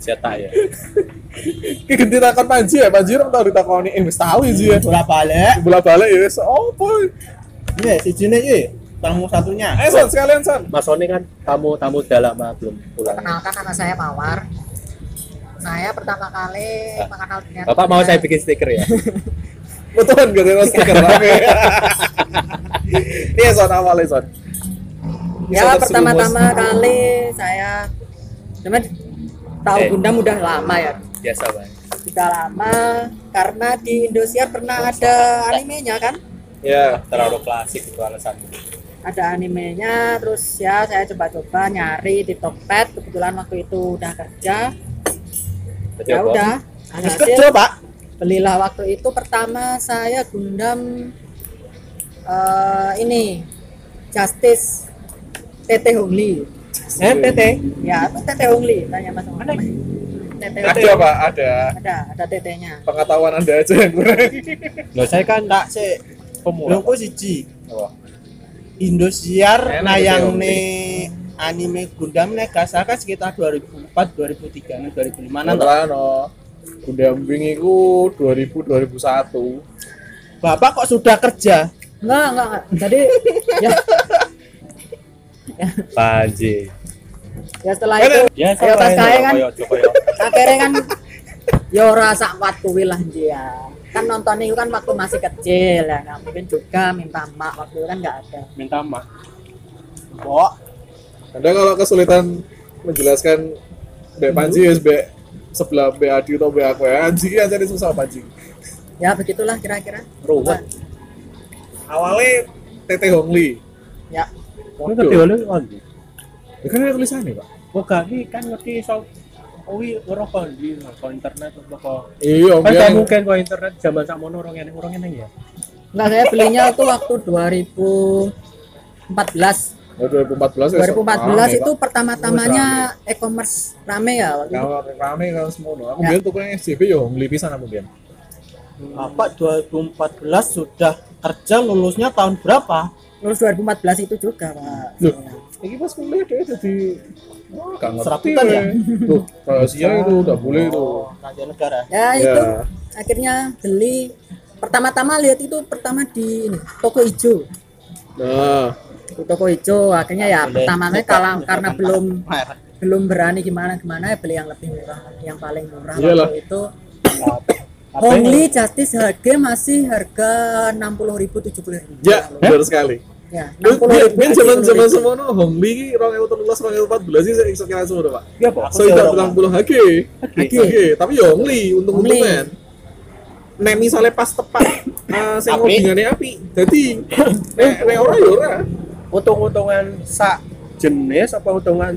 Cetak ya. Ki ganti takon Panji ya, Panji ora tau ditakoni wis tau iki ya. Bola-balik ya wis opo. Iya, sijine iki tamu satunya. Son sekalian Son. Mas Sony kan tamu udah lama belum pulang. Perkenalkan, nama saya Mawar. Saya pertama kali mengenal dunia. Bapak mau saya bikin stiker ya? Betulan gak ada stiker rame. Iya Son, awalnya Son. Ya, pertama-tama kali saya cuman tahu Gundam udah lama ya. Biasa Bang. Udah lama karena di Indosiar pernah ada animenya kan? Ya, Terlalu klasik itu alasannya. Ada animenya, terus ya saya coba-coba nyari di Tokped. Kebetulan waktu itu udah kerja. Ya udah, Terus kerja, Pak. belilah waktu itu pertama saya Gundam ini Justice TT Hongli. TT. Ya, itu TT Hongli, tanya Mas Om. TT ada Pak, ada TT-nya. pengetahuan Anda aja yang kurang. Loh saya kan Tak sik. pemula. Lho kok siji. Oh. Indosiar Enak nayang gitu, nih anime Gundam nek gak salah kan sekitar 2004, 2003, 2005 an. Ano, Gundam Wing itu 2000-2001. Bapak kok sudah kerja? Enggak. Jadi ya Panji. ya setelah itu Ya ya pas kae kan Jokoyo. akhirnya kan ya ora sak kuat kuwi lah dia. Kan nonton itu kan waktu masih kecil ya, nggak mungkin juga minta mak waktu itu kan nggak ada. Minta maaf. Kok Anda kalau kesulitan menjelaskan Mbak Panji ya sebelah Mbak Adi atau Mbak aku ya, Anji kan jadi susah Panji. Ya begitulah kira-kira. Ruwet. Awalnya TT Hongli. Ya, Ini kan dewa lu on. Ya kan ada tulisannya Pak. Oh gak ini kan ngerti so Owi ora kok di internet apa. Iya, Kan biar mungkin kok internet zaman sakmono orang ini ya. enggak, saya belinya itu waktu 2014. Oh, 2014 ya. 2014 itu pertama-tamanya e-commerce rame ya waktu itu. kalau rame kalau semua. Aku Ya. biar tuh yang SCP ya Hongli pisan aku biar. Bapak 2014 sudah kerja, lulusnya tahun berapa? Lulus 2014 itu juga, Pak. Loh. Ini pas kuliah dia jadi gak ngerti. Serabutan ya? Tuh, rahasia itu udah boleh itu. Raja negara. Ya, Ya. itu akhirnya beli pertama-tama lihat itu pertama di ini, toko hijau. Nah, Di toko hijau akhirnya ya pertamanya karena belum berani gimana ya beli yang lebih murah, yang paling murah Iyalah. waktu itu. Hongli Justice harga masih harga 60.000 70.000. ya benar sekali. Ya, Biar zaman semono Hongli ki 2013 2014 sih saya iso kira semua Pak. Iya, Pak. So tidak 30 HG. HG. Tapi ya Hongli untung-untungan. Nek misalnya pas tepat sing Api. hubungannya api. Jadi nek ora ya ora. Untung-untungan sak jenis apa untungan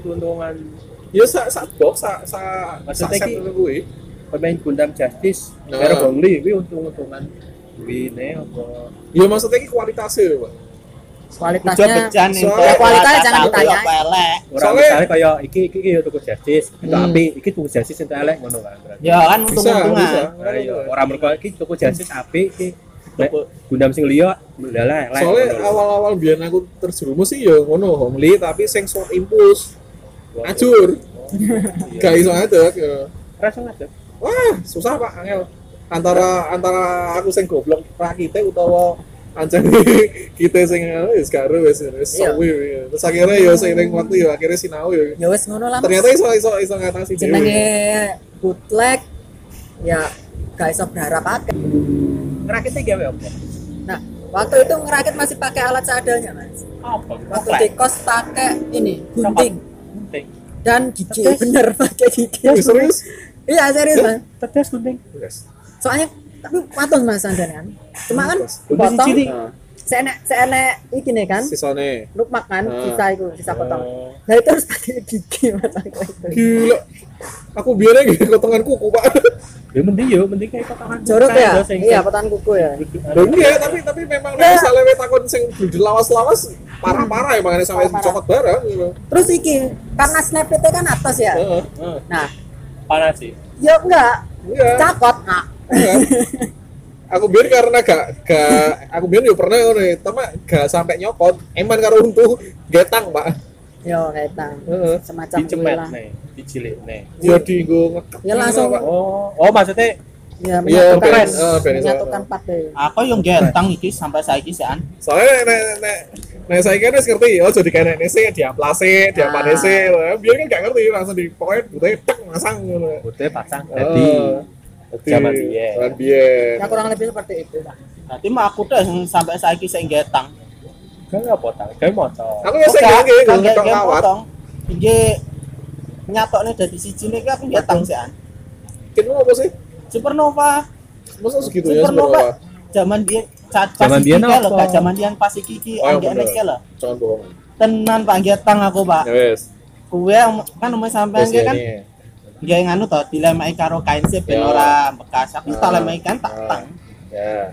Ya sak box Maksudnya set ki- kuwi. pemain Gundam Justice Nah. karo Hongli kuwi untung-untungan wine apa Ya maksudnya ki kualitasnya lho, Pak. kualitasnya Bejan nih. Soalnya kualitas jangan ditanya. Apa elek? ora Soalnya- misalnya kaya iki ya tuku Justice itu api iki tuku Justice entek elek ngono kan berarti. Ya kan Bisa. untung-untungan. Nah, iya ora mergo iki tuku Justice api iki nek Gundam sing liya ndalah elek. Soalnya ngono lho. awal-awal biar aku terjerumus sih ya ngono Hongli tapi sing short impulse acur. Gak iso ada ya. Rasa ngajak. Wah, susah Pak angel. Antara aku sing goblok rakite utawa ancen kita sing wis karo wis Iya. suwi. Terus akhirnya ya seiring waktu ya akhirnya sinau ya. Ya wes ngono lah. Mas. Ternyata iso ngatasi Jenenge bootleg ya gak iso berharap akeh. Ngerakite gawe apa? Nah, waktu itu ngerakit masih pakai alat seadanya, Mas. Apa? Waktu di kos pakai ini gunting Gunting. dan gigi, bener pakai gigi. Serius? Iya serius, Mas. Tetes gunting. Yes. Soalnya tapi patung Mas Andan kan. Cuma kan Gunting potong cilik. Nah, seenek iki nih kan. sisone. Lukmak kan, sisa potong. Oh. Nah itu harus pakai gigi Mas aku itu. Gila. Aku biarnya gitu potongan kuku, Pak. Ya mending kayak potongan. Jorok ya? Iya, potongan kuku ya. Loh, iya, tapi memang misalnya we takon sing bludel lawas-lawas parah-parah ya makanya sampai Parah-parah. dicopot barang gitu. Terus iki karena snap itu kan atas ya. Heeh. Nah, Panas sih. ya enggak Iya. cakot. Nah, Iya. Aku biar karena gak aku biar yo pernah ngono ya, tapi gak sampai nyopot. Eman karo untu getang, Pak. Yo ketang. Heeh. Semacam kuwi Dicemet lah. nih, dicilik nih. Ya dienggo ngekep. Ya langsung Oh, maksudnya ya Iya, menyatukan ben menyatukan partai. Aku yang getang iki sampai saiki sean. Soalnya nek saya kan wis ngerti, oh jadi kayak sih diamplase, diampanese, biar kan gak ngerti langsung di pokoknya butuh tek masang ngono. putih pasang tadi. Zaman biyen. Zaman biyen. Ya kurang lebih seperti itu lah. Berarti mah aku tuh yang sampai saiki sing getang. Kan apa potong? Kayak motor. Aku ya sing ngerti kan ngetok game kawat. potong. Iki nyatokne dadi siji nek aku getang sean. Kene apa sih? Supernova. Masa segitunya Supernova. Zaman dia Zaman biyen lho, apa? Kak. Zaman dia pas iki Oh, anggek bener. nek lho. Jangan bohong. Tenan Pak getang aku, Pak. Ya wes. Kuwe kan umum sampean Wes kan ini. ya nganu to dilemai karo kain sip ben Ya. ora bekas. Aku tak Ah. lemai kan tak Ah. tang. Ya.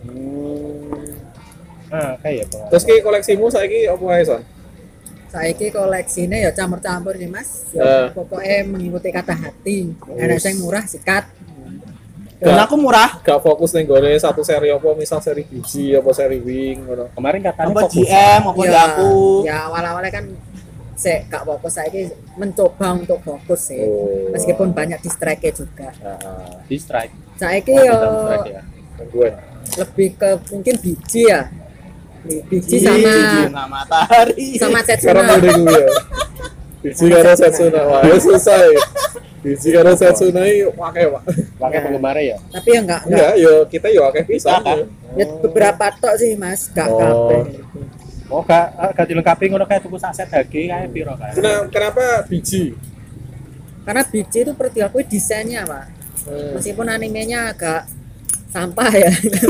Kayak ya. Terus ki koleksimu saiki apa ae, Son? Saiki koleksine ya campur-campur sih Mas. Eh. Ya, pokoknya mengikuti kata hati. Ada yang murah sikat. Dan aku murah. Gak fokus ning gone satu seri apa, misal seri biji apa seri wing ngono. Kemarin katanya Apa fokus. GM apa di aku. Ya awal-awalnya kan saya gak fokus, saya mencoba untuk fokus sih. Oh. Meskipun banyak distract juga. Heeh. Di strike. Saiki Oh, yo kita strike ya. Gangguan. lebih ke mungkin biji ya. Biji Nah, matahari. sama Sekarang Setsuna. udah gue ya. Biji karo Setsuna, wah ya selesai. Biji karo Setsuna ini pakai pak. Pakai penggemarnya ya. Tapi ya enggak Enggak, yo kita yo akeh bisa. Bisa, kan? ya beberapa tok sih Mas, gak Oh. kabeh. Oh, gak dilengkapi ngono kayak tuku saset daging kayak piro kan. Kenapa biji? Karena biji itu perlu diakui desainnya, Pak. Meskipun animenya agak sampah ya.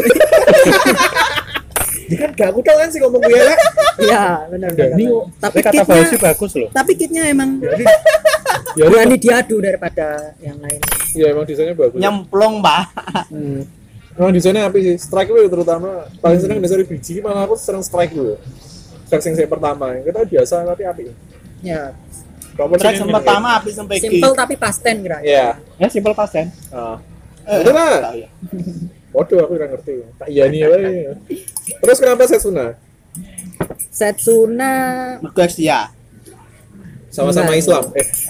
Dia kan gak aku tahu kan sih ngomong gue ya. Iya, benar. Ini Tapi kata kitnya- Fauzi bagus loh. Tapi kitnya emang Ya berani diadu daripada yang lain. ya emang desainnya bagus. Nyemplung, Pak. Emang desainnya apa sih? Strike gue terutama paling seneng dari biji, malah aku seneng strike gue. Strike yang saya pertama, kita biasa tapi api. Ya, Kamu Track yang pertama api sampai iki. simple tapi pasten kira. Iya. Ya simple pasen. Udah lah. Tahu ya. Waduh, aku udah ngerti. Tak iya nih ya. Terus kenapa Setsuna? Setsuna Guys ya. Sama-sama Enggak. Islam.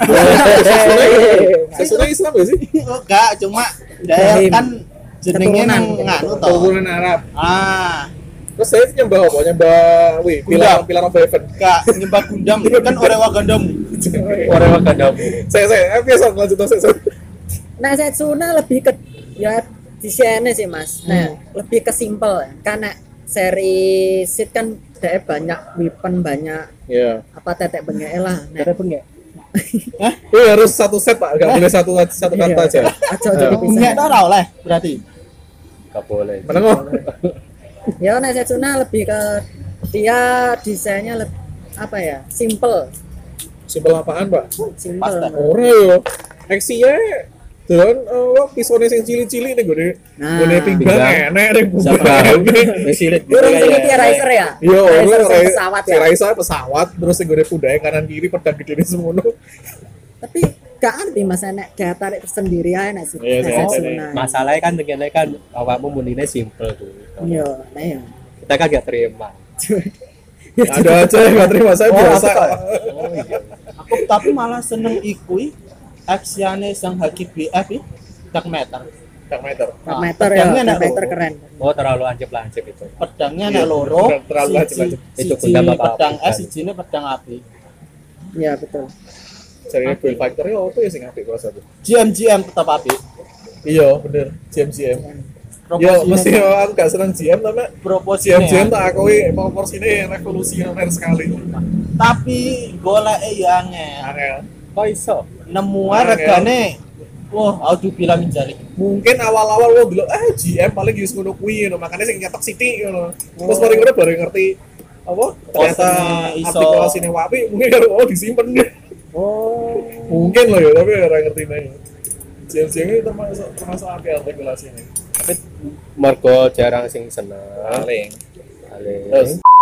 Setsuna Islam gak sih? Enggak, cuma dia Jahim. kan jenenge nang Keturunan. nganu to. Keturunan Arab. Ah, Terus saya nyembah apa? Nyembah, wih, Gundam. pilar of heaven. enggak nyembah Gundam kan Orewa Gundam. Orang makan damu. Saya biasa lanjut saya. Nah, Setsuna lebih ke ya desainnya sih Mas. Nah, lebih ke simple karena seri Sid kan dia banyak weapon, banyak Iya. apa tetek bengek lah. Nah, Ada pun nggak? Wih, harus satu set Pak, nggak boleh satu kata aja. aja jadi bisa. Enggak ora oleh berarti. Gak boleh. Meneng kok. Ya, nah Setsuna lebih ke dia desainnya apa ya? Simple. Simpel apaan Pak? Simple. Pasta. Ora yo. Aksinya dan pisone sing cili-cili nih gue Nah, gue pinggang pinggang. enek nih Siapa tahu mesilit gitu Burung sini kayak. dia Riser ya? Iya, Riser orang sing pesawat ya. Raisa pesawat terus sing gue pundake kanan kiri pedang gede semono. Tapi gak anti Mas enek gaya tarik tersendiri aja nek Iya, iya, Setsuna. Masalahnya kan dengan kan awakmu munine simple tuh. Iya, nah ya. Kita kan gak terima. Ada aja yang nggak terima saya biasa. Oh iya. Aku tapi malah seneng ikui aksiane sang Haki BF iki Dark Matter. Dark Matter. Dark Matter ya, pedangnya Dark enak Matter loro. keren. Oh terlalu lancip-lancip itu. Pedangnya Iya, nek loro. terlalu lancip-lancip. Itu Siji Gundam apa pedang api, es, sijine pedang api. Iya, betul. Jadi Build Fighter ya apa ya sing apik kuasa tuh. GM tetap api. Iya, bener. GM. Yo, Proporsinya- mesti aku gak seneng GM tapi proporsinya. GM tak akui proporsinya revolusioner sekali. Tapi goleke ya angel. Angel. Kok iso? Nemu ae regane. Wah, audio bilang menjalik. Mungkin awal-awal lo bilang GM paling use ngono kuwi ngono, makanya sing nyetok sithik ngono. Terus mari ngono baru ngerti apa ternyata Posisinya iso. artikulasinya wapi mungkin karo disimpen. Oh. Mungkin loh ya, tapi ora ngerti nih. GM ini termasuk api artikulasinya. Tapi mergo jarang sing seneng. Paling. Paling. Terus